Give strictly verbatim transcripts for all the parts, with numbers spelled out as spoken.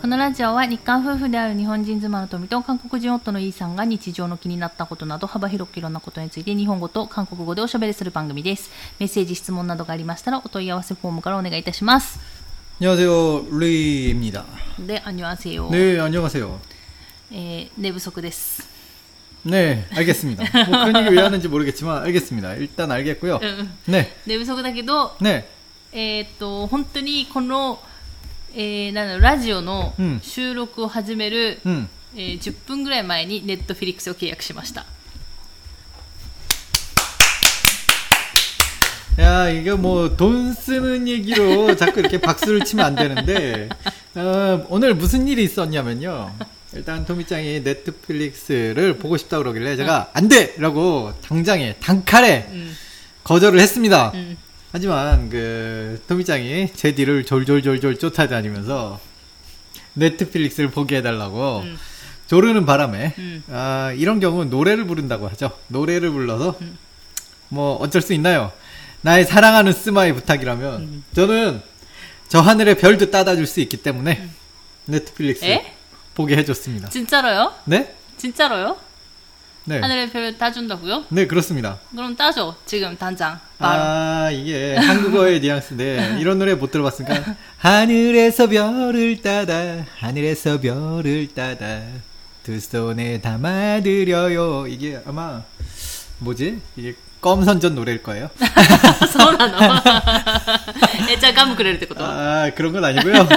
このラジオは日韓夫婦である日本人妻の富と韓国人夫のイーさんが日常の気になったことなど幅広くいろんなことについて日本語と韓国語でおしゃべりする番組です。メッセージ質問などがありましたらお問い合わせフォームからお願いいたします。 안녕하세요, 루이입니다. 네, 안녕하세요. 네, 안녕하세요. 에, 내 부석です. 네, 알겠습니다. 뭐 그런 얘기 왜 하는지 모르겠지만 알겠습니다. 일단 알겠고요. 응. 네. 寝不足だけど、 네. えーっと本当にこの、えー、なんだろうラジオの収録を始める、 うんえー、じゅっぷんぐらい前にネットフィリックスを契約しました。 야, 이게 뭐 돈 쓰는 얘기로 자꾸 이렇게 박수를 치면 안 되는데 어, 오늘 무슨 일이 있었냐면요. 일단 토미짱이 넷플릭스를 보고 싶다 그러길래 제가 안 돼! 라고 당장에 단칼에 음. 거절을 했습니다. 음. 하지만 그 토미짱이 제 뒤를 졸졸졸졸 쫓아다니면서 넷플릭스를 보게 해달라고 음. 조르는 바람에 음. 아, 이런 경우는 노래를 부른다고 하죠. 노래를 불러서 음. 뭐 어쩔 수 있나요? 나의 사랑하는 스마의 부탁이라면 음. 저는 저 하늘의 별도 따다줄 수 있기 때문에 음. 넷플릭스 에? 보게 해줬습니다. 진짜로요? 네? 진짜로요? 네. 하늘의 별을 따준다고요? 네, 그렇습니다. 그럼 따줘. 지금 당장. 바로. 아, 이게 한국어의 뉘앙스인데 이런 노래 못 들어봤으니까 하늘에서 별을 따다 하늘에서 별을 따다 두 손에 담아드려요. 이게 아마 뭐지? 이게 껌선전 노래일 거예요. そうなの? え、じゃあガムくれるってこと? 아, 그런 건 아니고요.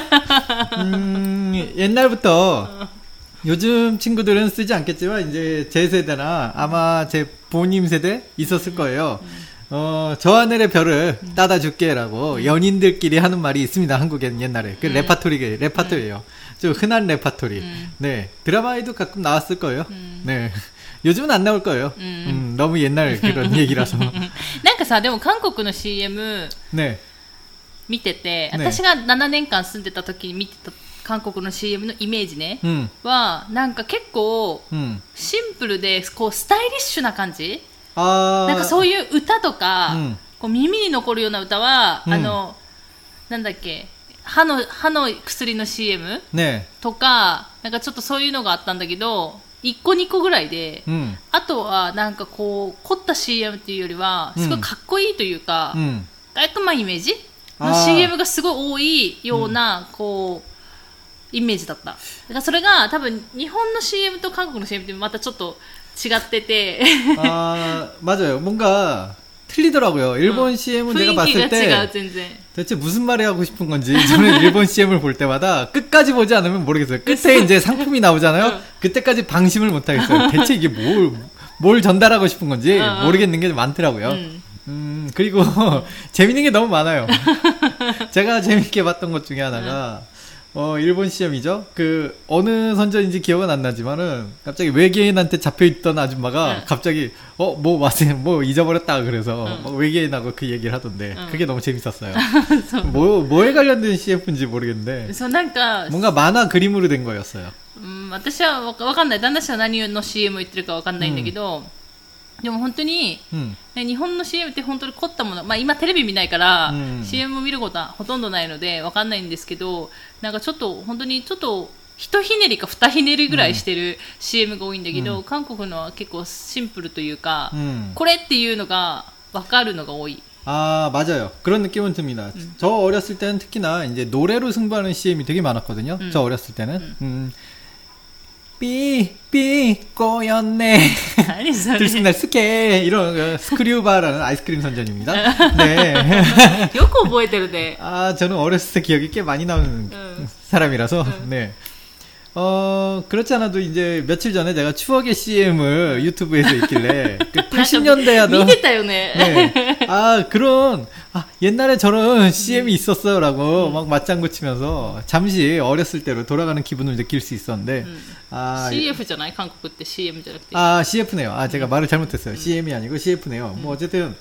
음, 옛날부터 요즘 친구들은 쓰지 않겠지만 이제 제 세대나 아마 제 부모님 세대 있었을 거예요. 어, 저 하늘의 별을 따다 줄게라고 연인들끼리 하는 말이 있습니다. 한국에는 옛날에 그 레파토리 레파토리예요. 좀 흔한 레파토리. 네, 드라마에도 가끔 나왔을 거예요. 네, 요즘은 안 나올 거예요. 음, 너무 옛날 그런 얘기라서. なんかさ、でも韓国の シーエム 네. 見てて、 ね、 私がななねんかん住んでた時に見てた韓国の シーエム のイメージね、 음. はなんか結構 음. シンプルでこうスタイリッシュな感じ、 아. なんかそういう歌とか、 음. こう耳に残るような歌は、 うん、 あのなんだっけ、歯の歯の薬の シーエム、 네. とかなんかちょっとそういうのがあったんだけど、いっこにこぐらいで、 음. あとはなんかこう凝った シーエム っていうよりはすごいかっこいいというか、 음. 깔끔한イメージの シーエム がすごい多いような、うん、こうイメージだった。だからそれが多分日本の シーエム と韓国の シーエム ってまたちょっと違ってて 아, 맞아요. 뭔가 틀리더라고요. 일본 응. 씨엠은 내가 봤을 때 대체 무슨 말이 하고 싶은 건지 저는 일본 씨엠을 볼 때마다 끝까지 보지 않으면 모르겠어요. 끝에 이제 상품이 나오잖아요. 응. 그때까지 방심을 못 하겠어요. 대체 이게 뭘, 뭘 전달하고 싶은 건지 응. 모르겠는 게 많더라고요. 응. 음, 그리고 재밌는 게 너무 많아요. 제가 재밌게 봤던 것 중에 하나가 어, 일본 씨엠이죠. 그 어느 선전인지 기억은 안 나지만은 갑자기 외계인한테 잡혀있던 아줌마가 응. 갑자기 어, 뭐 맞아요, 뭐 잊어버렸다 그래서 응. 막 외계인하고 그 얘기를 하던데 응. 그게 너무 재밌었어요. 뭐 뭐에 관련된 씨에프인지 모르겠는데 뭔가 만화 그림으로 된 거였어요. 음, 私はわかんない。旦那氏は何の シーエム 言ってるかわかんないんだけど、でも本当に、うん、日本の シーエム って本当に凝ったもの、まあ、今テレビ見ないから、うん、シーエム を見ることはほとんどないのでわかんないんですけど、なんかちょっと本当にちょっと一ひねりか二ひねりぐらいしてる シーエム が多いんだけど、うん、韓国のは結構シンプルというか、うん、これっていうのがわかるのが多い。 아, 맞아요. 그런 느낌은 듭니다. 음. 저 어렸을 때는 특히나 이제 노래로 승부하는 씨엠이 되게 많았거든요. 음. 저 어렸을 때는. 음. 음. 삐, 삐, 꼬였네. 들숨날 스케. 이런, 스크류바라는 아이스크림 선전입니다. 네. 요코 보여드르네. 아, 저는 어렸을 때 기억이 꽤 많이 나는 응. 사람이라서, 응. 네. 어, 그렇지 않아도 이제 며칠 전에 제가 추억의 씨엠을 유튜브에서 있길래, 그 팔십 년대 하던. 네. 아, 그런, 아, 옛날에 저런 씨엠이 있었어. 라고 음. 막 맞장구 치면서 잠시 어렸을 때로 돌아가는 기분을 느낄 수 있었는데, 음. 아. 씨에프잖아요. 한국 때 씨엠じゃなくて. 아, 씨에프네요. 아, 제가 음. 말을 잘못했어요. 음. 씨엠이 아니고 씨에프네요. 음. 뭐, 어쨌든.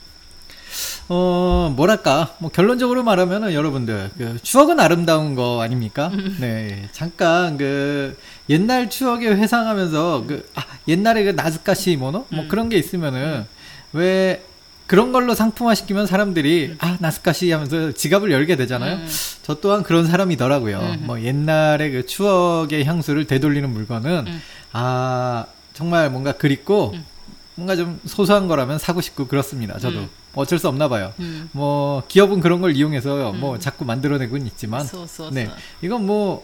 어, 뭐랄까, 뭐, 결론적으로 말하면은 여러분들, 그, 추억은 아름다운 거 아닙니까? 네. 잠깐, 그, 옛날 추억에 회상하면서, 그, 아, 옛날에 그 나즈카시 모노? 뭐 그런 게 있으면은, 왜, 그런 걸로 상품화시키면 사람들이 아 나스카시 하면서 지갑을 열게 되잖아요. 음. 저 또한 그런 사람이더라고요. 음. 뭐 옛날의 그 추억의 향수를 되돌리는 물건은 음. 아 정말 뭔가 그립고 음. 뭔가 좀 소소한 거라면 사고 싶고 그렇습니다. 저도 음. 어쩔 수 없나 봐요. 음. 뭐 기업은 그런 걸 이용해서 음. 뭐 자꾸 만들어내고는 있지만 네 이건 뭐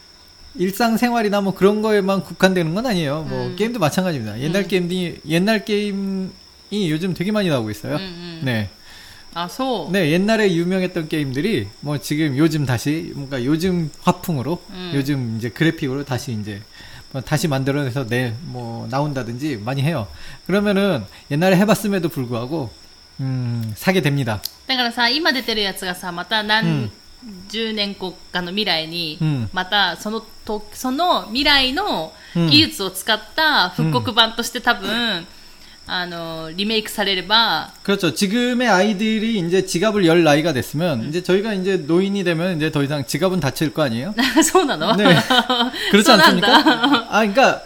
일상생활이나 뭐 그런 거에만 국한되는 건 아니에요. 뭐 음. 게임도 마찬가지입니다. 옛날 음. 게임이 옛날 게임이 요즘 되게 많이 나오고 있어요. 음, 음. 네. 아, 소. 네, 옛날에 유명했던 게임들이 뭐 지금 요즘 다시 뭔가 요즘 화풍으로 음. 요즘 이제 그래픽으로 다시 이제 뭐 다시 만들어내서 내 뭐 나온다든지 많이 해요. 그러면은 옛날에 해봤음에도 불구하고 음 사게 됩니다. だからさ、今出てるやつがさ、また何十年後かの未来に、またそのとその未来の技術を使った復刻版として多分。あのリメイクされれば 그렇죠. 지금의 아이들이 이제 지갑을 열 나이가 됐으면 음. 이제 저희가 이제 노인이 되면 이제 더 이상 지갑은 닫힐 거 아니에요? そうなの? 네. 그렇지 않습니까? 아, 그러니까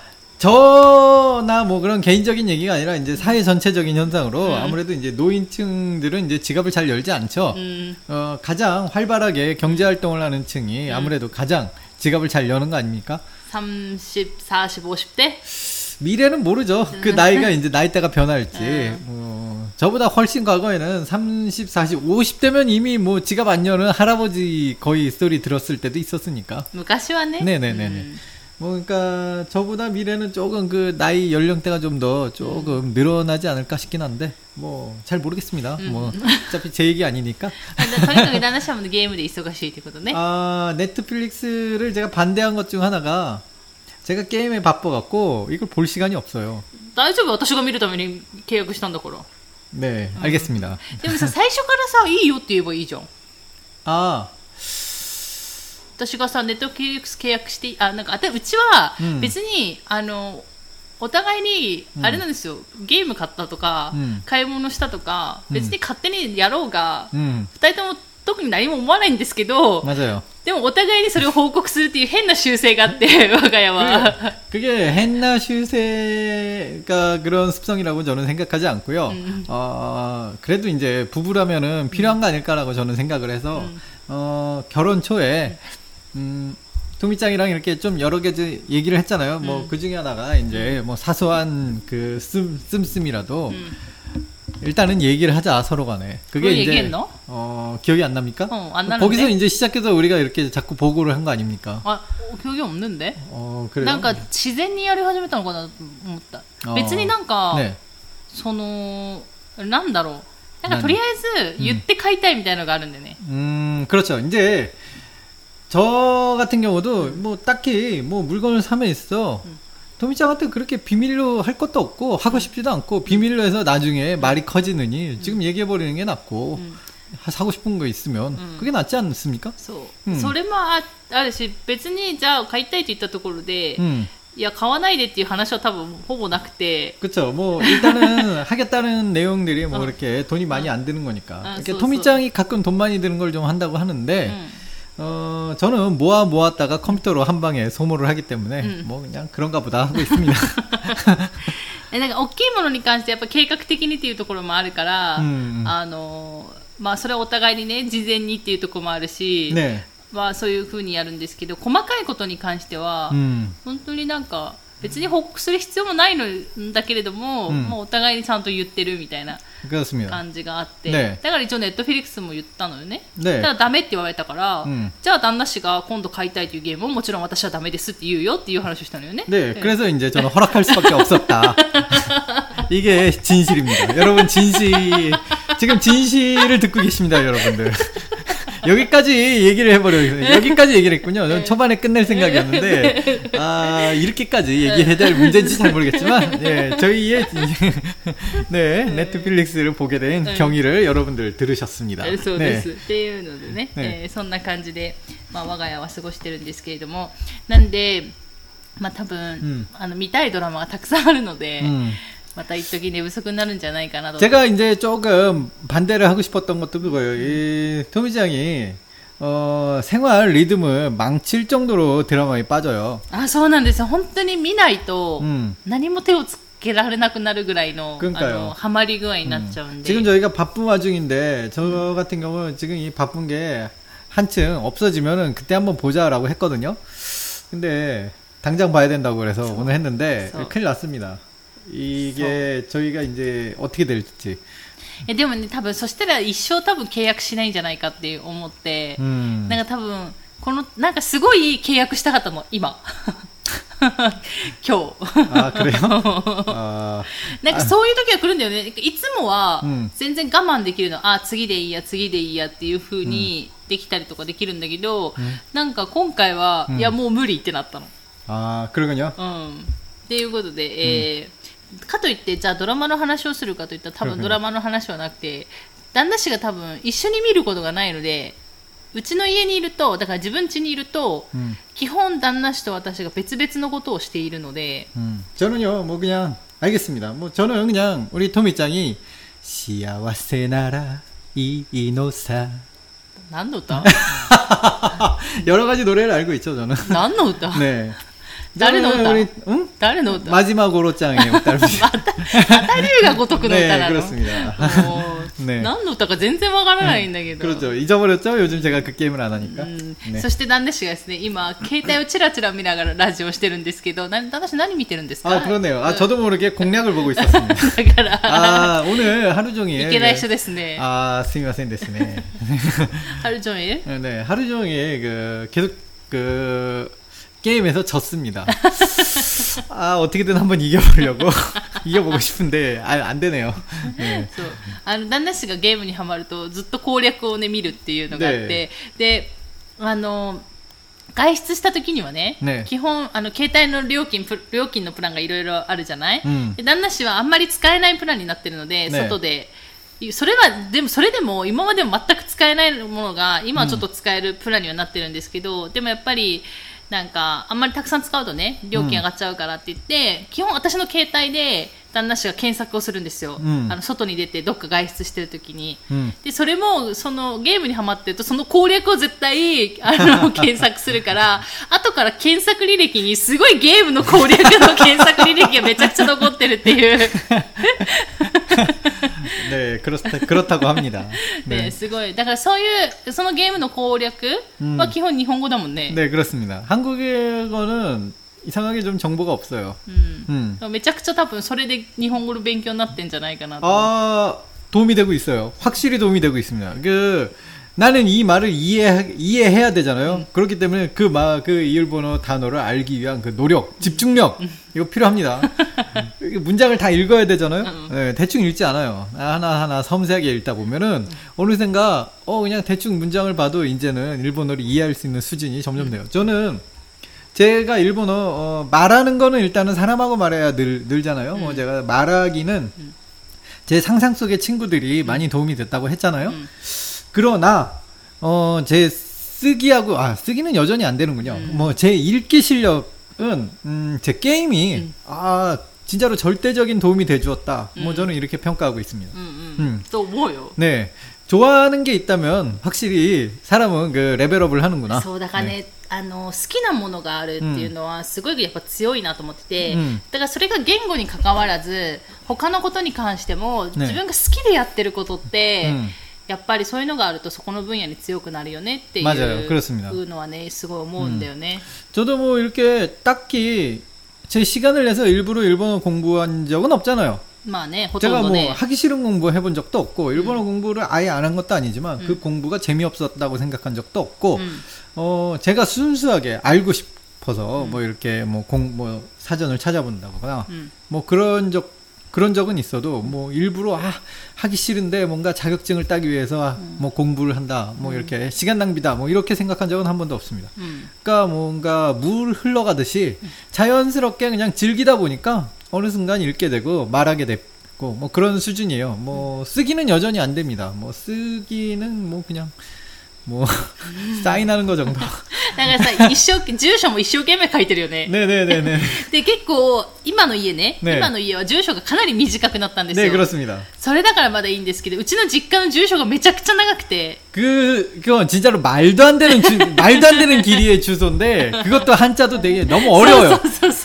저나 뭐 그런 개인적인 얘기가 아니라 이제 사회 전체적인 현상으로 음. 아무래도 이제 노인층들은 이제 지갑을 잘 열지 않죠. 음. 어, 가장 활발하게 경제 활동을 하는 층이 음. 아무래도 가장 지갑을 잘 여는 거 아닙니까? 삼십, 사십, 오십 대? 미래는 모르죠. 그 나이가 이제 나이대가 변할지. 어, 저보다 훨씬 과거에는 삼십, 사십, 오십 대면 이미 뭐 지갑 안 여는 할아버지 거의 스토리 들었을 때도 있었으니까. 昔はね. 네네네네. 음. 뭐 그러니까 저보다 미래는 조금 그 나이 연령대가 좀 더 조금 음. 늘어나지 않을까 싶긴 한데 뭐 잘 모르겠습니다. 음. 뭐 어차피 제 얘기 아니니까. 게임에 忙しいってことね. 아, 넷플릭스를 제가 반대한 것 중 하나가 제가 게임에 바빠갖고 이걸 볼 시간이 없어요. 大丈夫私が見るために契約したんだから. 네, 알겠습니다. でもさ、最初からさ、いいよって言えばいいじゃん. 아. 私がさ、ネットフリックス契約して、あ、なんか、うちは別に、うん、あの、お互いに、あれなんですよ、うん、ゲーム買ったとか、うん、買い物したとか、別に勝手にやろうが、うん、ふたりとも特に何も思わないんですけど、 맞아요. でもお互いにそれを報告するっていう変な習性があって、我が家は。 그게変な 習性가 그런 습성이라고 저는 생각하지 않고요. 음. 어, 그래도 이제 부부라면은 필요한 거 아닐까라고 저는 생각을 해서 음. 어, 결혼 초에 음, 도미짱이랑 이렇게 좀 여러 개 얘기를 했잖아요. 뭐 음. 그 중에 하나가 이제 뭐 사소한 그 씀, 씀씀이라도 음. 일단은 얘기를 하자 서로 간에. 그게 이제 얘기했나? 어, 기억이 안 납니까? 어, 안 나는데. 거기서 이제 시작해서 우리가 이렇게 자꾸 보고를 한 거 아닙니까? 아, 어, 기억이 없는데. 어, 그래요. なんか自然にやり始めたのかなと思った. 어. 別になんか 네. そのなんだろう. なんかとりあえず言って買いたいみたいなのがあるんでね. 음, 그렇죠. 이제 저 같은 경우도 음. 뭐 딱히 뭐 물건을 사면 있어. 음. 도미짱한테 그렇게 비밀로 할 것도 없고 하고 싶지도 않고 비밀로 해서 나중에 말이 커지느니 음. 지금 얘기해버리는 게 낫고 음. 사고 싶은 거 있으면 음. 그게 낫지 않습니까? そう。それもあるし別にじゃあ買いたいと言ったところで 음. いや買わないでっていう話は多分ほぼなくて 그렇죠. 뭐 일단은 하겠다는 내용들이 뭐 어. 이렇게 돈이 많이 안 드는 거니까 아, 이렇게 도미짱이 가끔 돈 많이 드는 걸 좀 한다고 하는데 음. 어, 저는 모아 모았다가 컴퓨터로 한 방에 소모를 하기 때문에 음. 뭐 그냥 그런가 보다 하고 있습니다. なんか大きいものに関してやっぱ計画的にっていうところもあるから、うん、あのまあそれはお互いにね事前にっていうところもあるし、ね、まあそういう風にやるんですけど、細かいことに関しては、うん、本当になんか別に報告する必要もないのだけれども、うん、もうお互いにちゃんと言ってるみたいな感じがあって、ね、だから一応ネットフィリックスも言ったのよね。ね、だからダメって言われたから、うん、じゃあ旦那氏が今度買いたいというゲームをもちろん私はダメですって言うよっていう話をしたのよね。 네, 그래서 이제 저는 허락할 수밖에 없었다. 이게 진실입니다. 여러분 진실 지금 진실을 듣고 계십니다, 여러분들. 여기까지 얘기를 해버려요. 여기까지 얘기를 했군요. 네. 초반에 끝낼 생각이었는데, 아, 이렇게까지 얘기해야 될 문제인지 잘 모르겠지만, 예, 저희의, 네, 넷플릭스를 보게 된 네. 경위를 여러분들 들으셨습니다. そうです。っていうのでね、えー、そんな感じで、まあ、我が家は過ごしてるんですけれども、なんで、まあ多分、うん、あの見たいドラマがたくさんあるので、うん、また一時寝不足になるんじゃないかなと. 제가 이제 조금 반대를 하고 싶었던 것도 그거예요. 이 토미짱이 어, 생활 리듬을 망칠 정도로 드라마에 빠져요. 아, そうなんですよ。本当に見ないと何も手をつけられなくなるぐらいの、あのハマり具合になっちゃうんで。 지금 저희가 바쁜 와중인데 저 같은 경우는 지금 이 바쁜 게 한층 없어지면은 그때 한번 보자라고 했거든요. 근데 당장 봐야 된다고 그래서 so, 오늘 했는데 so. 큰일 났습니다. 이게 so. 저희가 이제 어떻게 될지. えでもね、多分そしたら一生多分契約しないんじゃないかって思って、うん、なんか多分このなんかすごい契約したかったの今今日あくれよあなんかそういう時は来るんだよね。いつもは全然我慢できるの、うん、あ次でいいや次でいいやっていう風にできたりとかできるんだけど、うん、なんか今回は、うん、いやもう無理ってなったの。 あ그러군요。 うん。っていうことで、えーうんかといってじゃあドラマの話をするかといったら多分ドラマの話はなくて旦那氏が多分一緒に見ることがないのでうちの家にいるとだから自分家にいると、うん、基本旦那氏と私が別々のことをしているので、 うん、저는요 뭐 그냥 알겠습니다. 뭐 저는 그냥 우리 토미짱이幸せならいいのさ何の歌 여러 가지 노래를 알고 있죠 저는. 何の歌 네. 誰の歌? 응? 誰の歌? 마지막으로짱의歌. また、また龍が如くの歌なの? 네, 그렇습니다. 네. 何の歌か全然わからないんだけど. 그렇죠. 잊어버렸죠? 요즘 제가 그 게임을 안 하니까. 음, 네. そして旦那氏がですね、今携帯をチラチラ見ながらラジオをしてるんですけど、旦那氏何見てるんですか? 아, 그러네요. 아, 저도 모르게 공략을 보고 있었습니다. だから 아, 오늘 하루 종일 いけない人ですね. 아, 스미마센ですね. 하루 종일? 네, 하루 종일 그 계속 그 게임에서 졌습니다. 아 어떻게든 한번 이겨보려고 이겨보고 싶은데 아, 안 되네요. 네. そうあの旦那氏がゲームにハマるとずっと攻略をね見るっていうのがあって、であの外出した時にはね、ね基本あの携帯の料金料金のプランがいろいろあるじゃない、うん、で旦那氏はあんまり使えないプランになってるので、ね、外でそれはでもそれでも今までも全く使えないものが今はちょっと使えるプランにはなってるんですけど、うん、でもやっぱりなんかあんまりたくさん使うとね料金上がっちゃうからって言って、うん、基本私の携帯で旦那氏が検索をするんですよ、うん、あの外に出てどっか外出してる時に、うん、でそれもそのゲームにハマってるとその攻略を絶対あの検索するから後から検索履歴にすごいゲームの攻略の検索履歴がめちゃくちゃ残ってるっていう 네, 그렇다, 그렇다고 합니다. 네, すごい。だからそういうそのゲームの攻略は基本日本語だもんね。 네, 그렇습니다. 한국어는 이상하게 좀 정보가 없어요. 음. 음. めちゃくちゃ多分それで日本語の勉強になってんじゃないかなと。 아, 도움이 되고 있어요. 확실히 도움이 되고 있습니다. 그 나는 이 말을 이해 이해해야 되잖아요. 음. 그렇기 때문에 그 말, 그 일본어 단어를 알기 위한 그 노력, 집중력 음. 이거 필요합니다. 문장을 다 읽어야 되잖아요. 음. 네, 대충 읽지 않아요. 하나 하나 섬세하게 읽다 보면은 음. 어느샌가 어 그냥 대충 문장을 봐도 이제는 일본어를 이해할 수 있는 수준이 점점 돼요. 저는 제가 일본어 어, 말하는 거는 일단은 사람하고 말해야 늘 늘잖아요. 음. 뭐 제가 말하기는 음. 제 상상 속의 친구들이 음. 많이 도움이 됐다고 했잖아요. 음. 그러나 어, 제 쓰기하고 아 쓰기는 여전히 안 되는군요. 음. 뭐 제 읽기 실력은 음, 제 게임이 음. 아 진짜로 절대적인 도움이 돼주었다. 음. 뭐 저는 이렇게 평가하고 있습니다. 음, 음. 음. 또 뭐요? 네, 좋아하는 게 있다면 확실히 사람은 그 레벨업을 하는구나. そうだからね、あの好きなものがあるっていうのはすごいやっぱ強いなと思ってて、うん、だからそれが言語に関わらず他のことに関しても、ね、自分が好きでやってることって、うんやっぱりそういうのがあるとそこの分野に強くなるよねっていうのはねすごい思うんだよね。 저도 뭐 이렇게 딱히 제 시간을 내서 일부러 일본어 공부한 적은 없잖아요. まあね, 제가 뭐 하기 싫은 공부 해본 적도 없고 일본어 음. 공부를 아예 안 한 것도 아니지만 음. 그 공부가 재미없었다고 생각한 적도 없고 음. 어 제가 순수하게 알고 싶어서 음. 뭐 이렇게 뭐 공 뭐 사전을 찾아본다거나 음. 뭐 그런 적 그런 적은 있어도 뭐 일부러 아 하기 싫은데 뭔가 자격증을 따기 위해서 음. 뭐 공부를 한다 뭐 음. 이렇게 시간 낭비다 뭐 이렇게 생각한 적은 한 번도 없습니다. 음. 그러니까 뭔가 물 흘러가듯이 자연스럽게 그냥 즐기다 보니까 어느 순간 읽게 되고 말하게 됐고 뭐 그런 수준이에요. 뭐 쓰기는 여전히 안 됩니다. 뭐 쓰기는 뭐 그냥 뭐 사인하는 거 정도. だからさ一生住所も一生懸命書いてるよね。 ねねねね。 で結構今の家ね、ね今の家は住所がかなり短くなったんですよ。 ね、그렇습니다。 それだからまだいいんですけど、うちの実家の住所がめちゃくちゃ長くて。 그 그건 진짜로 말도 안 되는 주, 말도 안 되는 길이의 주소인데 그것도 한자도 되게 너무 어려워요. そうそうそうそう。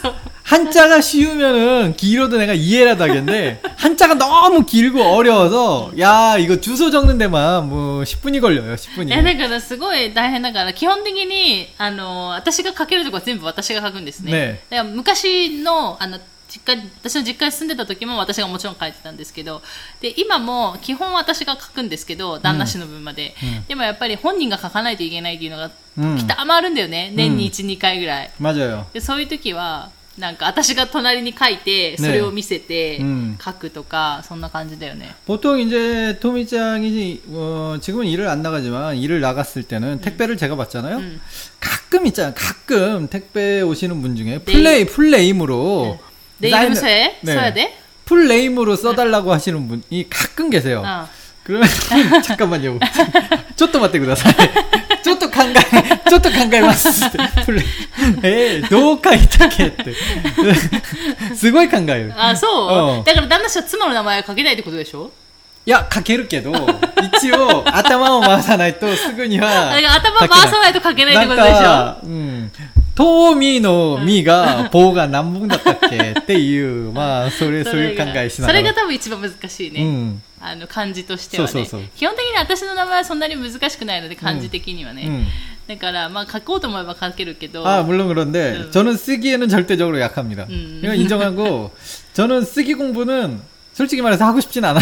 한자가 쉬우면은 길어도 내가 이해라도 하겠는데 한자가 너무 길고 어려워서 야 이거 주소 적는 데만 뭐 십 분이 걸려요. 십 분이. えだからすごい大変だから基本的にあの私が書けるとこは全部私が書くんですね。 ねだから昔のあの実家私の実家に住んでた時も私がもちろん書いてたんですけど、で今も基本私が書くんですけど旦那氏の分まで、うん、でもやっぱり本人が書かないといけないっていうのが時たまあるんだよね、うん、年にいち、にかいぐらい。 맞아요。 でそういう時はなんか私が隣に書いてそれを見せて書くとか、そんな感じだよね。 보통 이제 토미짱이 어, 지금은 일을 안 나가지만 일을 나갔을 때는 택배를 제가 받잖아요. 음. 가끔 있잖아요. 가끔 택배 오시는 분 중에 풀네임 풀네임으로 내 이름 써야 써야 돼? 풀네임으로 써달라고 하시는 분이 가끔 계세요. 어. 그러면 잠깐만요. ちょっと待ってください。ちょっと考え、ちょっと考えます。えー、どう書いたっけって。すごい考える。 あ、そう、だから旦那氏は妻の名前は書けないってことでしょ？ いや、書けるけど、一応頭を回さないとすぐには。 頭回さないと書けないってことでしょ？なんか、うん。 トーミーのミーが棒が何本だったっけっていう、まあ、それ、そういう考えしながら。 それが多分一番難しいね。うん。あの、漢字としてはね。そうそうそう。基本的に私の名前はそんなに難しくないので、漢字的にはね。うんうん、だから、まあ、書こうと思えば書けるけど。 아, 물론 그런데, 음. 저는 쓰기에는 절대적으로 약합니다. 음. 이건 인정하고, 저는 쓰기 공부는 솔직히 말해서 하고 싶진 않아요.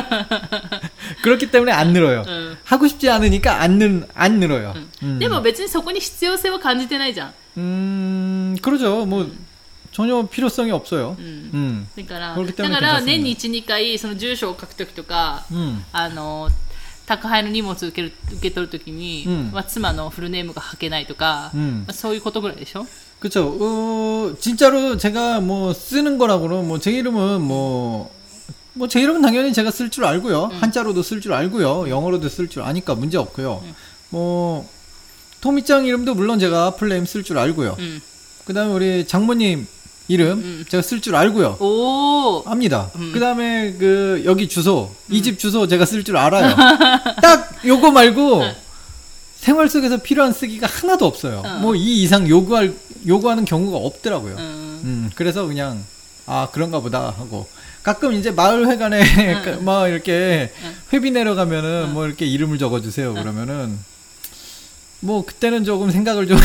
그렇기 때문에 안 늘어요. 음. 하고 싶지 않으니까 안, 늘, 안 늘어요. 음. 음. でも別にそこに必要性は感じてないじゃん. 음, 그러죠. 뭐, 음. 전혀 필요성이 없어요. 음. 음. だから、だから年にいち、にかいその住所を書くときとか、うん、あの宅配の荷物を受ける受け取るときに、うんまあ、妻のフルネームが書けないとか、うんまあ、そういうことぐらいでしょ? 그렇죠. 어, 진짜로 제가 뭐 쓰는 거라고는 뭐 제 이름은 뭐 뭐 제 이름은 당연히 제가 쓸 줄 알고요. 음. 한자로도 쓸 줄 알고요. 영어로도 쓸 줄 아니까 문제 없고요. 음. 뭐 토미짱 이름도 물론 제가 풀네임 쓸 줄 알고요. 음. 그다음에 우리 장모님 이름 음. 제가 쓸 줄 알고요. 오. 압니다. 음. 그다음에 그 여기 주소, 음. 이 집 주소 제가 쓸 줄 알아요. 딱 요거 말고 생활 속에서 필요한 쓰기가 하나도 없어요. 어. 뭐 이 이상 요구할 요구하는 경우가 없더라고요. 음. 음. 그래서 그냥 아 그런가 보다 하고 가끔 이제 마을회관에 음. 막 이렇게 음. 회비 내려가면은 음. 뭐 이렇게 이름을 적어주세요. 그러면은 뭐 그때는 조금 생각을 좀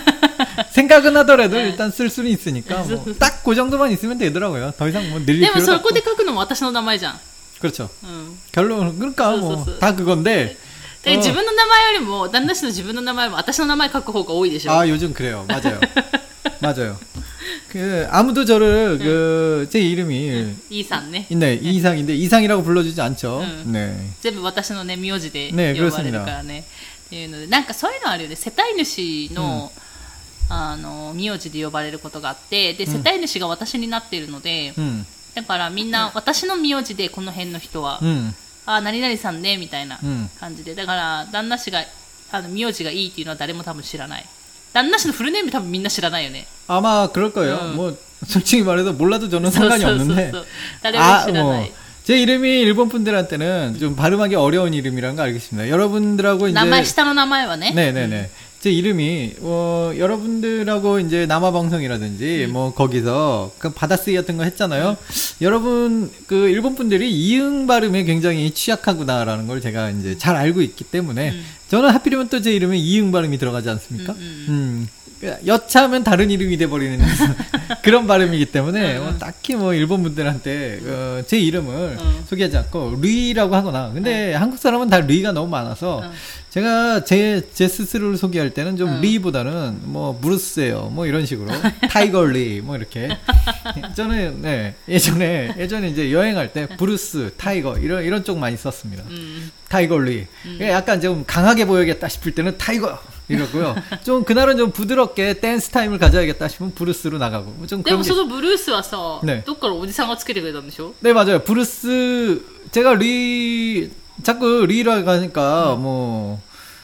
생각은 하더라도 일단 쓸 수는 있으니까 뭐 딱 그 정도만 있으면 되더라고요. 더 이상 뭐 늘릴 필요가 없고. でもそこで書くのも私の名前じゃん. 그렇죠. 음. 결론 그러니까 뭐 다 그건데. 自分の名前よりも旦那氏の自分の名前も私の名前書く方が多いでしょ. 아 요즘 그래요. 맞아요. 맞아요. 그 아무도 저를 응. 그 제 이름이 응. 이상네. 네, 이상인데 이상이라고 불러주지 않죠. 응. 네. 全部私のね名字で呼ばれるからね。っていうのでなんかそういうのあるよね。世帯主の、うん、あの名字で呼ばれることがあって、で世帯主が私になっているので、うん、だからみんな私の名字でこの辺の人は、うん、あ何々さんねみたいな感じで、だから旦那氏があの名字がいいっていうのは誰も多分知らない。旦那氏のフルネーム多分みんな知らないよね. 아마 그럴 거예요. 음. 뭐 솔직히 말해서 몰라도 저는 상관이 없는데. 아, 뭐 제 이름이 일본 분들한테는 좀 발음하기 어려운 이름이라는 거 알겠습니다. 여러분들하고 이제 名前下の名前はね. 네, 네, 네. 제 이름이 어, 여러분들하고 이제 남아방송이라든지 음. 뭐 거기서 그 받아쓰기 같은 거 했잖아요. 음. 여러분 그 일본 분들이 이응 발음에 굉장히 취약하구나라는 걸 제가 이제 잘 알고 있기 때문에 음. 저는 하필이면 또 제 이름에 이응 발음이 들어가지 않습니까? 음. 음. 음. 여차하면 다른 이름이 돼버리는 그런 발음이기 때문에 음. 뭐 딱히 뭐 일본 분들한테 어, 제 이름을 음. 소개하지 않고 루이라고 하거나 근데 음. 한국 사람은 다 루이가 너무 많아서 음. 제가 제, 제 스스로를 소개할 때는 좀 음. 리보다는 뭐 브루스예요 뭐 이런 식으로 타이거 리 뭐 이렇게 저는 네 예전에 예전에 이제 여행할 때 브루스 타이거 이런 이런 쪽 많이 썼습니다. 음. 타이거 리 음. 약간 좀 강하게 보여야겠다 싶을 때는 타이거 이러고요. 좀 그날은 좀 부드럽게 댄스 타임을 가져야겠다 싶으면 브루스로 나가고 좀 그런 게. でもそのブルースはさ、どっからおじさんがつけてくれたんでしょ? 네 맞아요. 브루스 제가 리 자꾸 리라고 하니까 음. 뭐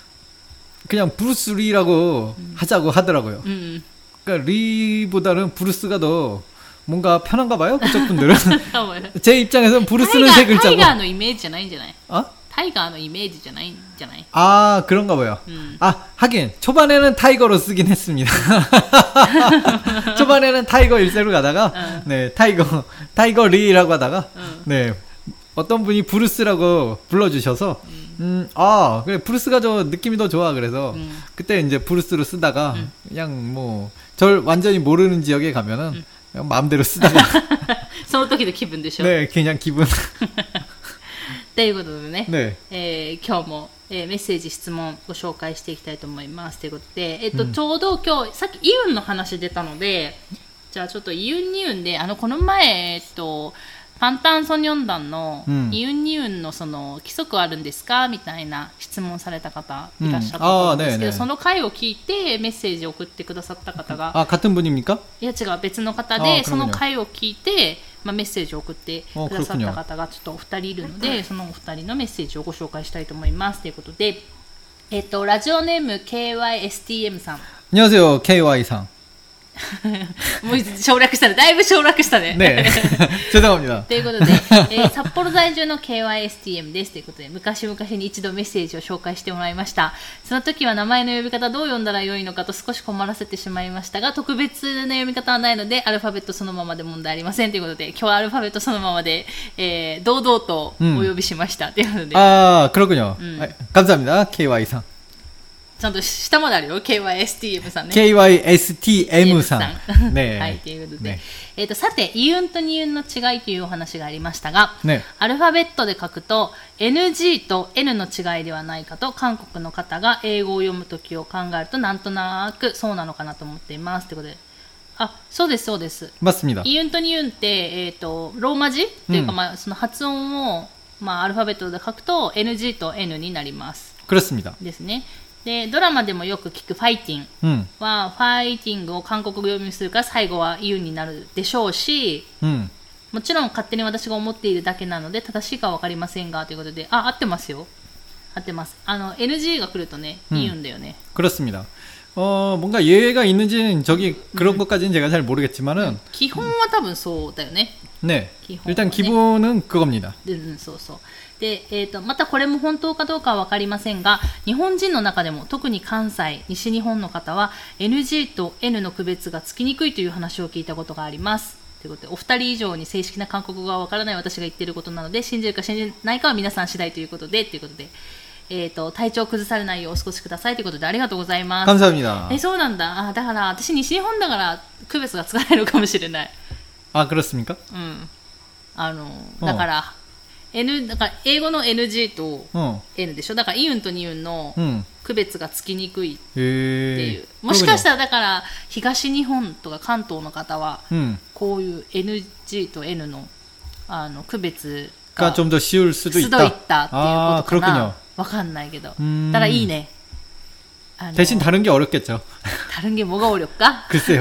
그냥 브루스 리라고 음. 하자고 하더라고요. 음. 그러니까 리보다는 브루스가 더 뭔가 편한가 봐요. 그쪽 분들은. 제 입장에서는 브루스는 세 글자고. 타이거의 이미지じゃないんじゃない? 어? タイガーのイメージじゃないんじゃない? 아, 그런가 봐요. 음. 아, 하긴 초반에는 타이거로 쓰긴 했습니다. 초반에는 타이거 일세로 가다가 어. 네, 타이거 타이거 리라고 하다가 어. 네. 어떤 분이 브루스라고 불러주셔서 음, 음 아 그래 브루스가 저 느낌이 더 좋아 그래서 음. 그때 이제 브루스로 쓰다가 음. 그냥 뭐 절 완전히 모르는 지역에 가면은 음. 그냥 마음대로 쓰다가 その時の気分でしょ? 네, 그냥 기분. ということでね、 ねえー、今日も、えー、メッセージ質問ご紹介していきたいと思いますということで、えっと、うん、ちょうど今日さっきイウンの話出たので、じゃあちょっとイウンニウンであのこの前えっとパンタンソニョン団のイウンニウンのその規則あるんですかみたいな質問された方いらっしゃったと思うんですけど、その回を聞いてメッセージを送ってくださった方が、 あ、같은 분입니까? いや違う別の方で、その回を聞いて、まあ、メッセージを送ってくださった方がちょっとお二人いるので、そのお二人のメッセージをご紹介したいと思いますということで、えっとラジオネーム ケーワイエスティーエム さん。 안녕하세요ケーワイさん。 もう省略したね。だいぶ省略したね。 ねえ。죄송합니다。 ということで、えー、札幌在住の ケーワイエスティーエム です。ということで、昔々に一度メッセージを紹介してもらいました。その時は名前の呼び方どう読んだらよいのかと少し困らせてしまいましたが、特別な読み方はないので、アルファベットそのままで問題ありません。ということで、今日はアルファベットそのままで、えー、堂々とお呼びしました。ということで。 ああ、그렇군요。감사합니다。ケーワイさん。 ちゃんと下まであるよ。ケーワイエスティーエム さんね。 ケーワイエスティーエム さん。ね、 はい、ということで。ね、えっと、さて、イウンとニウンの違いというお話がありましたが、ね、アルファベットで書くと、エヌジー と N の違いではないかと、韓国の方が英語を読むときを考えると、なんとなくそうなのかなと思っています。ということで。あ、そうです、そうです。 맞습니다。 イウンとニウンって、えっと、ローマ字というか、うん、まあ、その発音を、まあ、アルファベットで書くと、エヌジー と N になります。 그렇습니다。 ですね。でドラマでもよく聞くファイティンは、うん、ファイティングを韓国語読みするから最後はイウンになるでしょうし、うん、もちろん勝手に私が思っているだけなので正しいかは分かりませんがということで、あ、合ってますよ。合ってます。あの エヌジー が来るとね、イウンだよね。 그렇습니다。어 뭔가 예외가 있는지는 저기 그런 음. 것까지는 제가 잘 모르겠지만은 기본은 多分そうだよね. 네. 일단 기본은 그겁니다. うん、そうそう。で、えーと、またこれも本当かどうかは分かりませんが、日本人の中でも特に関西、西日本の方は エヌジー と N の区別がつきにくいという話を聞いたことがあります。ということで、お二人以上に正式な韓国語が分からない私が言っていることなので、信じるか信じないかは皆さん次第ということで、ということで、えーと、体調を崩されないようお過ごしくださいということでありがとうございます。 감사합니다。 え、そうなんだ。あ、だから私西日本だから区別がつかないのかもしれない。 あ、그렇습니까？ うん。あの、だから、N、だから英語の エヌジー と N でしょ。だからイウンとニウンの区別がつきにくいっていう。うん、もしかしたらだから東日本とか関東の方はこういう エヌジー と N の、あの区別が 좀 더 쉬울 수도 있다。 鋭いったっていうことかな。わかんないけど。だからいいね。 대신 다른 게 어렵겠죠. 다른 게 뭐가 어렵까? 글쎄요.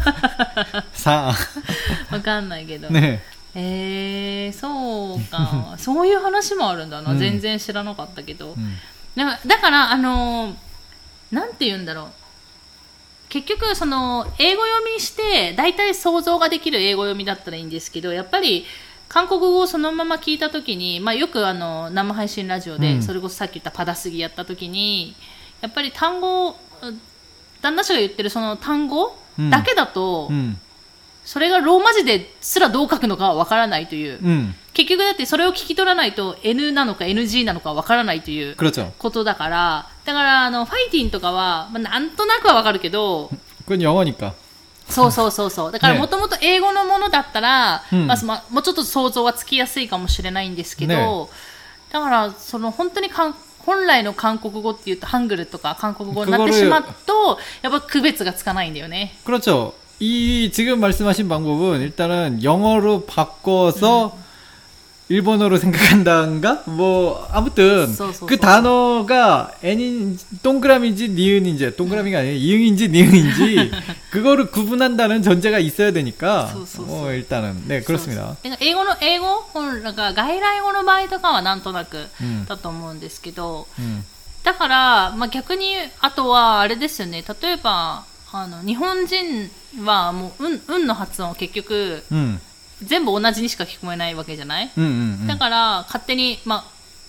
사. わかんないけど。 ね。 えー、そうか。そういう話もあるんだな。全然知らなかったけど。うん、だ, だから、あのー、なんて言うんだろう。結局、その、英語読みして、だいたい想像ができる英語読みだったらいいんですけど、やっぱり、韓国語をそのまま聞いたときに、まあ、よくあの生配信ラジオで、うん、それこそさっき言ったパダスギやったときに、やっぱり単語、旦那氏が言ってるその単語だけだと、うん、それがローマ字ですらどう書くのかはわからないという、うん、結局だってそれを聞き取らないと N なのか エヌジー なのかわからないということだから、だからあのファイティンとかは、まあ、なんとなくはわかるけど、 これ日本語か。 そうそうそうそう。だからもともと英語のものだったら、ね、まあ、もうちょっと想像はつきやすいかもしれないんですけど、ね、だからその本当にかん本来の韓国語っていうとハングルとか韓国語になってしまうとやっぱ区別がつかないんだよね。 그렇죠。이 지금 말씀하신 방법은 일단은 영어로 바꿔서 음. 일본어로 생각한다인가? 뭐 아무튼 소소소소. 그 단어가 N인 동그라미인지 니은인지 동그라미가 아니라 이응인지 니은인지 그거를 구분한다는 전제가 있어야 되니까 뭐 일단은 네 그렇습니다. 英語の英語なんか外来語の場合とかはなんとなくだと思うんですけど、うん、だからまあ逆にあとはあれですよね。例えばあの日本人はもううんうんの発音を結局、うん全部同じにしか聞こえないわけじゃない、うんうんうん、だから勝手に、まあ、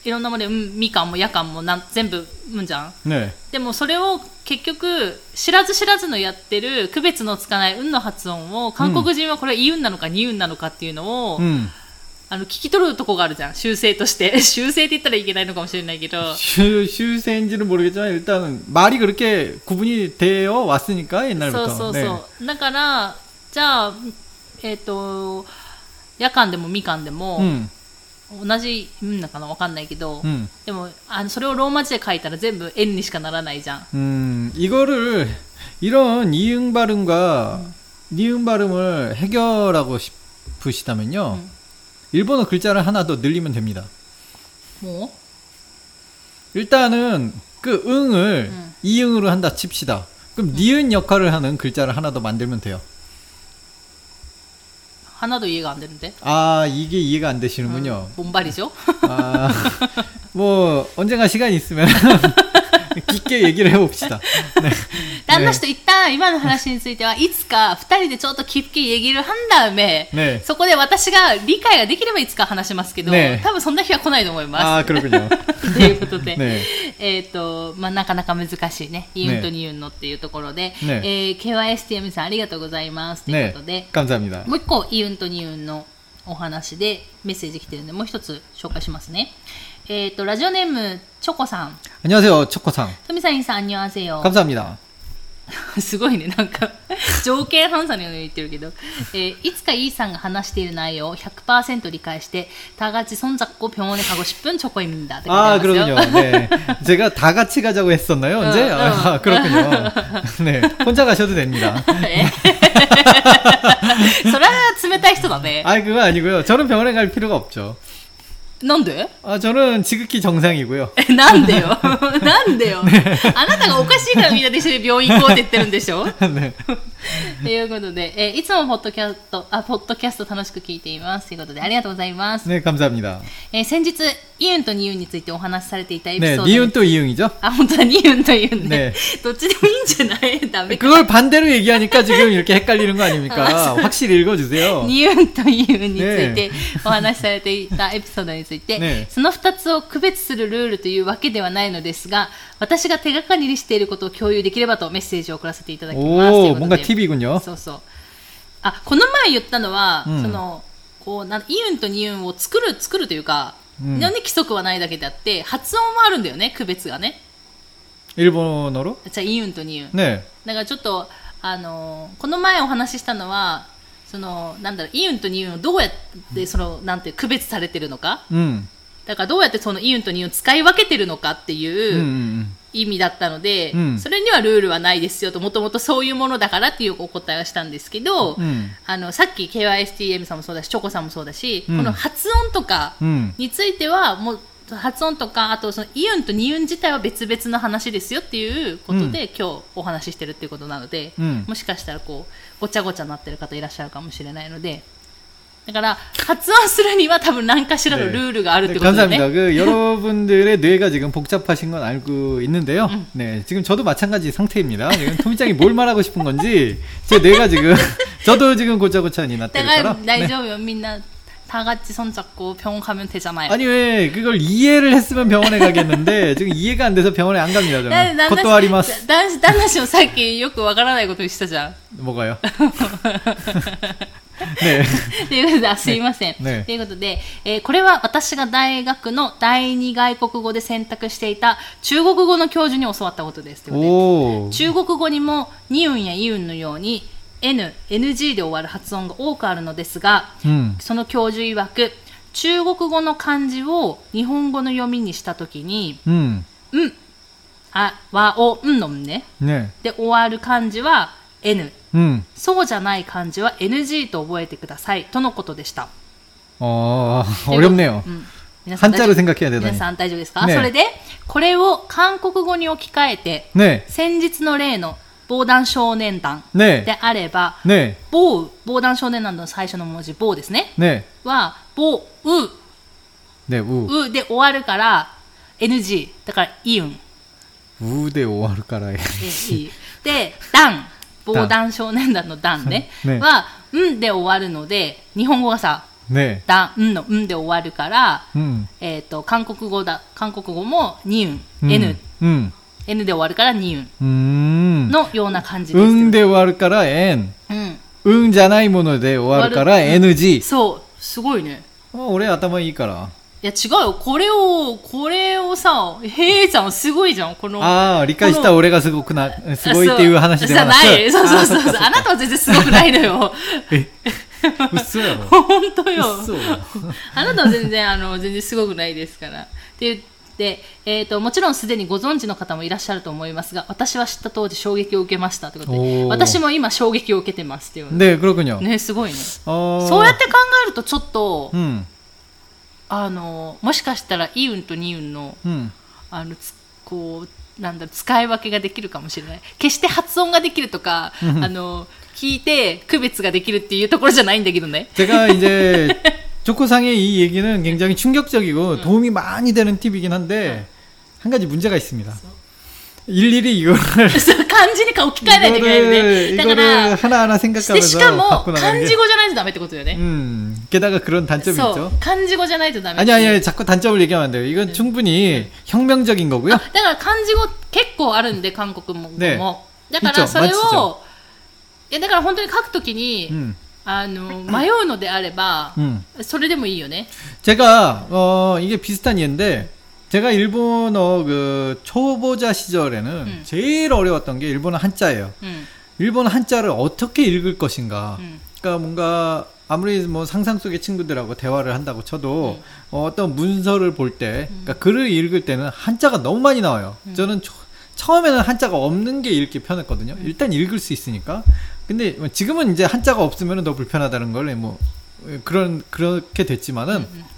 いろんなもので、うん、みかんもやかんもなん全部うんじゃん、 ね、 でもそれを結局知らず知らずのやってる区別のつかないうんの発音を韓国人はこれいうんなのかにうんなのかっていうのを、うん、あの聞き取るとこがあるじゃん修正として修正って言ったらいけないのかもしれないけど修正인지는 모르겠지만 일단 말이 그렇게 구분이 되어 왔으니까 옛날부터 そうそうそう、ね、だからじゃあえっ、ー、とやかんでもみかんでも、うん同じうんなのかなわかんないけど、うん、でもあのそれをローマ字で書いたら全部 N にしかならないじゃん。 음 이거를 이런 이응 발음과 음. 니응 발음을 해결하고 싶으시다면요. 음. 일본어 글자를 하나 더 늘리면 됩니다. 뭐? 일단은 그 응을 음. 이응으로 한다 칩시다. 그럼 음. 니은 역할을 하는 글자를 하나 더 만들면 돼요. 하나도 이해가 안 되는데. 아 이게 이해가 안 되시는군요. 음, 뭔 말이죠? 아, 뭐 언젠가 시간이 있으면 깊게 얘기를 해봅시다. 네. 旦那氏と一旦今の話についてはいつかふたりでちょっと깊게 얘기를 한 다음에 네. そこで私が理解ができればいつか話しますけど、ね、多分そんな日は来ないと思います。 あ、그렇군요。 ということで、ね、えっ、ー、とまあなかなか難しいね。イウンとニウンのっていうところで、ねえー、ケーワイエスティーエム さんありがとうございますということで、 ね、감사합니다。 もう一個イウンとニウンのお話でメッセージ来てるんでもう一つ紹介しますね。えっ、ー、とラジオネームチョコさん。 안녕하세요チョコさん。 トミさんインさん안녕하세요。 감사합니다。 すごいねなんか条件反射のように言ってるけど、えー、いつかイーさんが話している内容を ひゃくパーセント 理解して다 같이 손잡고 병원에 가고 싶은 초코입니다. 아 그렇군요. 네. 제가 다 같이 가자고 했었나요 언제? 어, 어. 아, 그렇군요. 네. 혼자 가셔도 됩니다. それは冷たい人だね。 아 그거 아니고요. 저는 병원에 갈 필요가 없죠. なんで? 아, 저는 지극히 정상이고요. なんでよなんでよ 네. あなたがおかしいからみんなで一緒に病院行こうって言ってるんでしょねということで、えー、いつもポッドキャスト、あ、ポッドキャスト楽しく聞いていますということでありがとうございます。 ね、감사합니다。 えー、先日イウンとニウンについてお話しされていたエピソード。 ね、ニウンとイウン이죠？ あ、本当だ、ニウンとイウンね。どっちでもいいんじゃない？ダメか。 그걸 반대로 얘기하니까 지금 이렇게 헷갈리는 거 아닙니까? 확실히 읽어주세요。 ニウンとイウンについてお話しされていたエピソードについて、ね、そのふたつを区別するルールというわけではないのですが、私が手がかりにしていることを共有できればとメッセージを送らせていただきます。 おー、뭔가 팁이군요。 そうそう。あ、この前言ったのは、うん、そのこうなイウンとニウンを作る作るというか、うん、規則はないだけであって発音はあるんだよね、区別がね。 일본어로？ じゃあイウンとニウン。 ね。 だからちょっとあのこの前お話ししたのはそのなんだろうイウンとニウンをどうやってそのなんて区別されてるのか。うん。だからどうやってそのイウンとニウンを使い分けてるのかっていう意味だったので、うんうん、それにはルールはないですよと、もともとそういうものだからっていうお答えをしたんですけど、うん、あのさっき ケーワイエスティーエム さんもそうだしチョコさんもそうだし、うん、この発音とかについてはもう発音とかあとそのイウンとニウン自体は別々の話ですよっていうことで、うん、今日お話ししてるっていうことなので、うん、もしかしたらこうごちゃごちゃになってる方いらっしゃるかもしれないので、だから発音するには多分何かしらのルールがあるってことですね。 감사합니다. 그 여러분들의 뇌가 지금 복잡하신 건 알고 있는데요. 음. 네, 지금 저도 마찬가지 상태입니다. 지금 토미짱이 뭘 말하고 싶은 건지 제 뇌가 지금 저도 지금 고짜고짜니 나때려라. 나이죠, 민나 다 같이 손잡고 병원 가면 되잖아요. 아니 왜 그걸 이해를 했으면 병원에 가겠는데 지금 이해가 안 돼서 병원에 안 갑니다. 저는. 것도 아리마스. 旦那氏もさっきよくわからないことをしたじゃん。 뭐가요? ね、ということで、すいません。 ね、 ということで、えー、これは私が大学の第二外国語で選択していた中国語の教授に教わったことです。ということで、中国語にもニウンやイウンのように N、エヌジー で終わる発音が多くあるのですが、うん、その教授曰く、中国語の漢字を日本語の読みにしたときに、うん、うん、あ、わ、お、んのんね。ね。で、終わる漢字は N。うん、そうじゃない漢字は エヌジー と覚えてくださいとのことでした。 ああ、어렵네요。한자로 생각해야 되다니。 皆さん大丈夫ですか？ね、それでこれを韓国語に置き換えて、ね、先日の例の防弾少年団であれば、ね、防防弾少年団の最初の文字防ですね。ねは防う、 ね、う、 うで終わるから エヌジー だからイウン。 うで終わるから エヌジー。 で団防弾少年団の団ね、ねはんで終わるので日本語がさ 네. 다、んのんで終わるから、 うん、 えっ、ー、と、韓国語だ。韓国語もにうん、N、 うん、 N で終わるからにうん。 うん。 のような感じです。 うんで終わるから N。うん。うんじゃないもので終わるから エヌジー。 そう、すごいね。 俺頭いいから。 いや違うよ。これを、これをさ、へいちゃんすごいじゃん。この。 ああ、理解した俺がすごくな、すごいっていう話ではなくて。 そうそうそうそう。あなたは全然すごくないのよ。 え嘘やろ。 本当よ。 嘘あなたは全然、あの、全然すごくないですから。って言って、えっと、もちろんすでにご存知の方もいらっしゃると思いますが、私は知った当時衝撃を受けましたということで、私も今衝撃を受けてますっていう。 で、黒くにょ。 ね、すごいね。そうやって考えるとちょっと、うん、あのもしかしたらイウンとニウンの、うん、あのこうなんだろう使い分けができるかもしれない。決して発音ができるとかあの聞いて区別ができるっていうところじゃないんだけどね。 제가이제 조코상의 이 얘기는 굉장히 충격적이고 도움이 많이 되는 팁이긴 한데 한 가지 문제가 있습니다. 일일이 이거를 漢字に置き換えないといけないんで、だから 하나하나 생각하면서 しかも漢字語じゃないとダメってことよね。 음, 게다가 그런 단점이 있죠. 漢字語じゃないとダメ。 아니 아니 아니 자꾸 단점을 얘기하면 안 돼요. 이건 네. 충분히 혁명적인 거고요. だから漢字語結構あるんで韓国も。ね。だからそれをいやだから本当に書くときに、うん、あの迷うのであれば、うん、それでもいいよね。 제가 어 이게 비슷한 예인데 제가 일본어 그 초보자 시절에는 음. 제일 어려웠던 게 일본어 한자예요. 음. 일본어 한자를 어떻게 읽을 것인가. 음. 그러니까 뭔가 아무리 뭐 상상 속의 친구들하고 대화를 한다고 쳐도 음. 어, 어떤 문서를 볼 때, 그러니까 음. 글을 읽을 때는 한자가 너무 많이 나와요. 음. 저는 초, 처음에는 한자가 없는 게 읽기 편했거든요. 음. 일단 읽을 수 있으니까. 근데 지금은 이제 한자가 없으면 더 불편하다는 걸 뭐 그런 그렇게 됐지만은. 음. 음.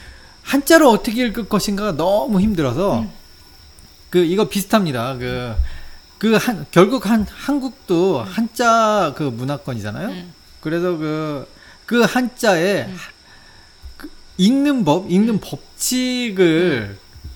한자로 어떻게 읽을 것인가가 너무 힘들어서 음. 그 이거 비슷합니다. 그 그 한 결국 한 한국도 음. 한자 그 문화권이잖아요. 음. 그래서 그 그 한자에 음. 그 읽는 법, 읽는 법칙을 음.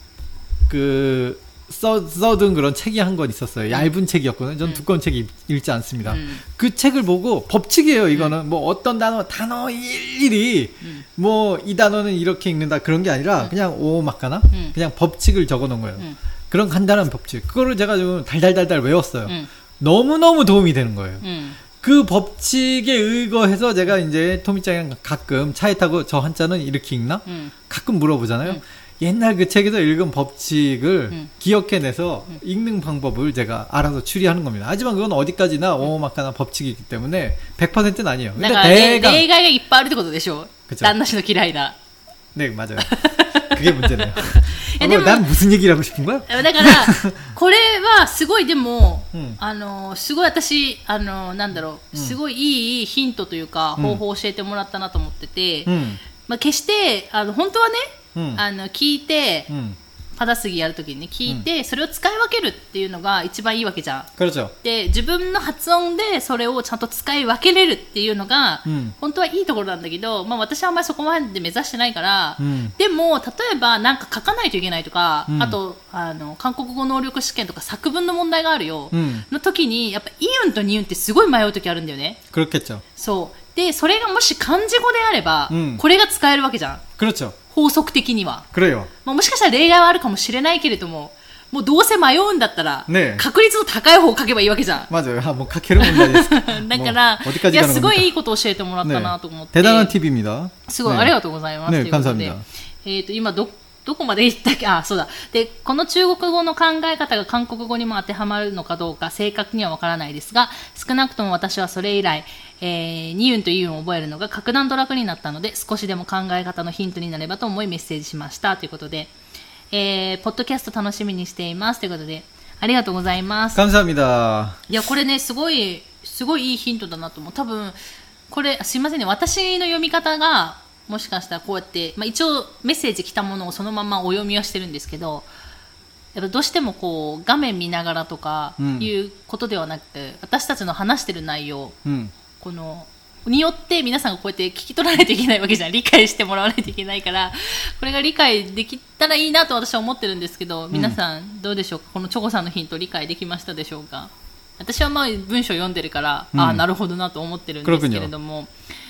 그 써, 써둔 그런 책이 한 권 있었어요. 얇은 책이었거든요. 전 음. 두꺼운 책 읽, 읽지 않습니다. 음. 그 책을 보고 법칙이에요. 이거는 음. 뭐 어떤 단어 단어 일일이 음. 뭐 이 단어는 이렇게 읽는다 그런 게 아니라 음. 그냥 오마카나 음. 그냥 법칙을 적어놓은 거예요. 음. 그런 간단한 법칙. 그거를 제가 좀 달달달달 외웠어요. 음. 너무너무 도움이 되는 거예요. 음. 그 법칙에 의거해서 제가 이제 토미짱이랑 가끔 차에 타고 저 한자는 이렇게 읽나? 음. 가끔 물어보잖아요. 음. 옛날 그 책에서 읽은 법칙을 음. 기억해내서 음. 읽는 방법을 제가 알아서 추리하는 겁니다. 하지만 그건 어디까지나 오마카나 법칙이기 때문에 백 퍼센트는 아니에요. 근데 대강 例外がいっぱいあるってことでしょ?旦那氏の嫌いな. 네, 맞아요. 그게 문제네요. 어, 난 무슨 얘기를 하고 싶은 거야? だからこれはすごいでも、うん、あのすごい私あのなんだろう、すごいいいヒントというか、うん、方法を教えてもらったなと思ってて、うん、まあ決してあの本当はね。うん、あの聞いて、うん、パダスギやるときに聞いて、うん、それを使い分けるっていうのが一番いいわけじゃん。で自分の発音でそれをちゃんと使い分けれるっていうのが、うん、本当はいいところなんだけど、まあ、私はあんまりそこまで目指してないから、うん、でも例えばなんか書かないといけないとか、うん、あとあの韓国語能力試験とか作文の問題があるよ、うん、の時にやっぱイウンとニウンってすごい迷う時あるんだよね。そうでそれがもし漢字語であれば、うん、これが使えるわけじゃん。法則的には。まあ、もしかしたら例外はあるかもしれないけれども、もうどうせ迷うんだったら、ね、確率の高い方を書けばいいわけじゃん。 まず、もう書ける問題です。だから、いや、すごいいいことを教えてもらったなと思って。 대단한 팁입니다。 すごい、ね、ありがとうございます。 ね、感謝합니다。 えっと、今ど、どこまで言ったっけ？あ、そうだ。で、この中国語の考え方が韓国語にも当てはまるのかどうか正確にはわからないですが、少なくとも私はそれ以来、えー、ニウンとイウンを覚えるのが格段と楽になったので、少しでも考え方のヒントになればと思いメッセージしましたということで、えー、ポッドキャスト楽しみにしていますということで、ありがとうございます。 感謝합니다。 いや、これね、すごい、すごいいいヒントだなと思う。多分、これ、すいませんね、私の読み方が、もしかしたらこうやって、まあ、一応メッセージ来たものをそのままお読みはしてるんですけど、やっぱどうしてもこう画面見ながらとかいうことではなくて、うん、私たちの話してる内容、うん、このによって皆さんがこうやって聞き取らないといけないわけじゃん。理解してもらわないといけないから、これが理解できたらいいなと私は思ってるんですけど、皆さんどうでしょうか。このチョコさんのヒント理解できましたでしょうか。私はまあ文章読んでるから、うん、ああなるほどなと思ってるんですけれども、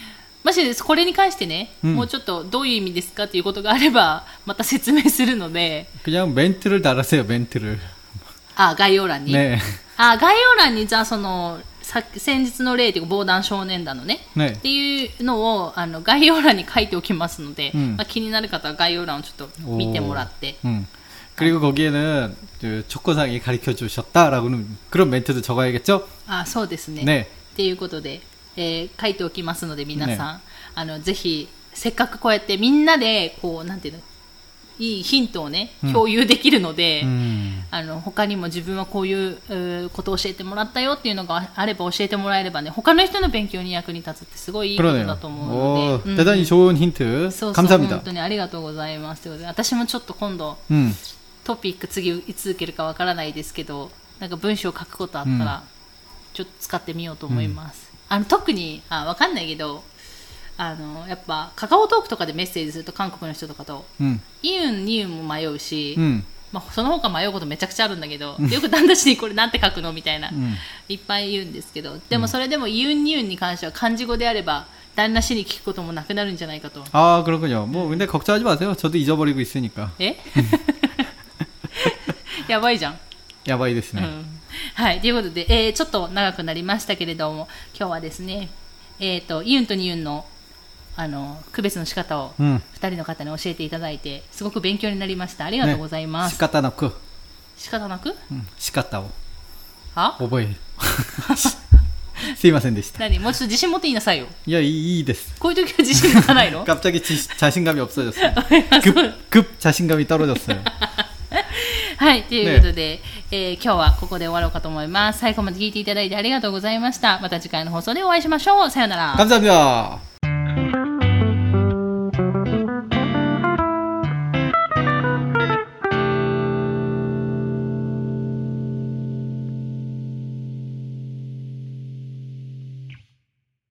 もしこれに関してね、うん、もうちょっとどういう意味ですかということがあればまた説明するので。 그냥 멘트를 달았어요. 멘트를. あ、概要欄に。 ね。 あ、概要欄にじゃあそのさ先日の例というか防弾少年団の ね, ねっていうのをあの概要欄に書いておきますので、うんまあ、気になる方は概要欄をちょっと見てもらって。 그리고 거기에는 그 초코상이 가르쳐 주셨다라고는 그런 멘트도 적어야겠죠? 아, そうですね。ね。っていうことで、えー、書いておきますので皆さん、ね、あのぜひせっかくこうやってみんなでこうなんていうのいいヒントをね共有できるので、うん、あの他にも自分はこういうことを教えてもらったよっていうのがあれば教えてもらえればね他の人の勉強に役に立つってすごいいいことだと思うので、うん、 대단히 좋은 힌트 そうそう 감사합니다. 本当にありがとうございますということで私もちょっと今度、うん、トピック次いつ受けるかわからないですけどなんか文章を書くことあったら、うん、ちょっと使ってみようと思います、うん、あの特にあわかんないけどあのやっぱカカオトークとかでメッセージすると韓国の人とかと、うん、イウン、ニウンも迷うし、うんまあ、その他迷うことめちゃくちゃあるんだけど、うん、よく旦那氏にこれなんて書くのみたいな、うん、いっぱい言うんですけどでもそれでもイウン、ニウンに関しては漢字語であれば旦那氏に聞くこともなくなるんじゃないかと。 ああ、그렇군요。もう근데 걱정하지 마세요。저도 잊어버리고 있으니까。 えやばいじゃん。 やばいですね。うん、 はい、ということで、えー、ちょっと長くなりましたけれども今日はですね、えーと、イウンとニウンのあの区別の仕方をふたりの方に教えていただいて、うん、すごく勉強になりました。ありがとうございます。 仕方なく仕方なく、 うん、仕方をは覚えるすいませんでした。 何もうちょっと自信持って言いなさいよ。 いや、いいです。 こういう時は自信持たないの 갑자기 자신감이 없어졌어요. 급, 급 자신감이 떨어졌어요. はい、ということで、ねえー、今日はここで終わろうかと思います。最後まで聞いていただいてありがとうございました。また次回の放送でお会いしましょう。さよなら。 감사합니다。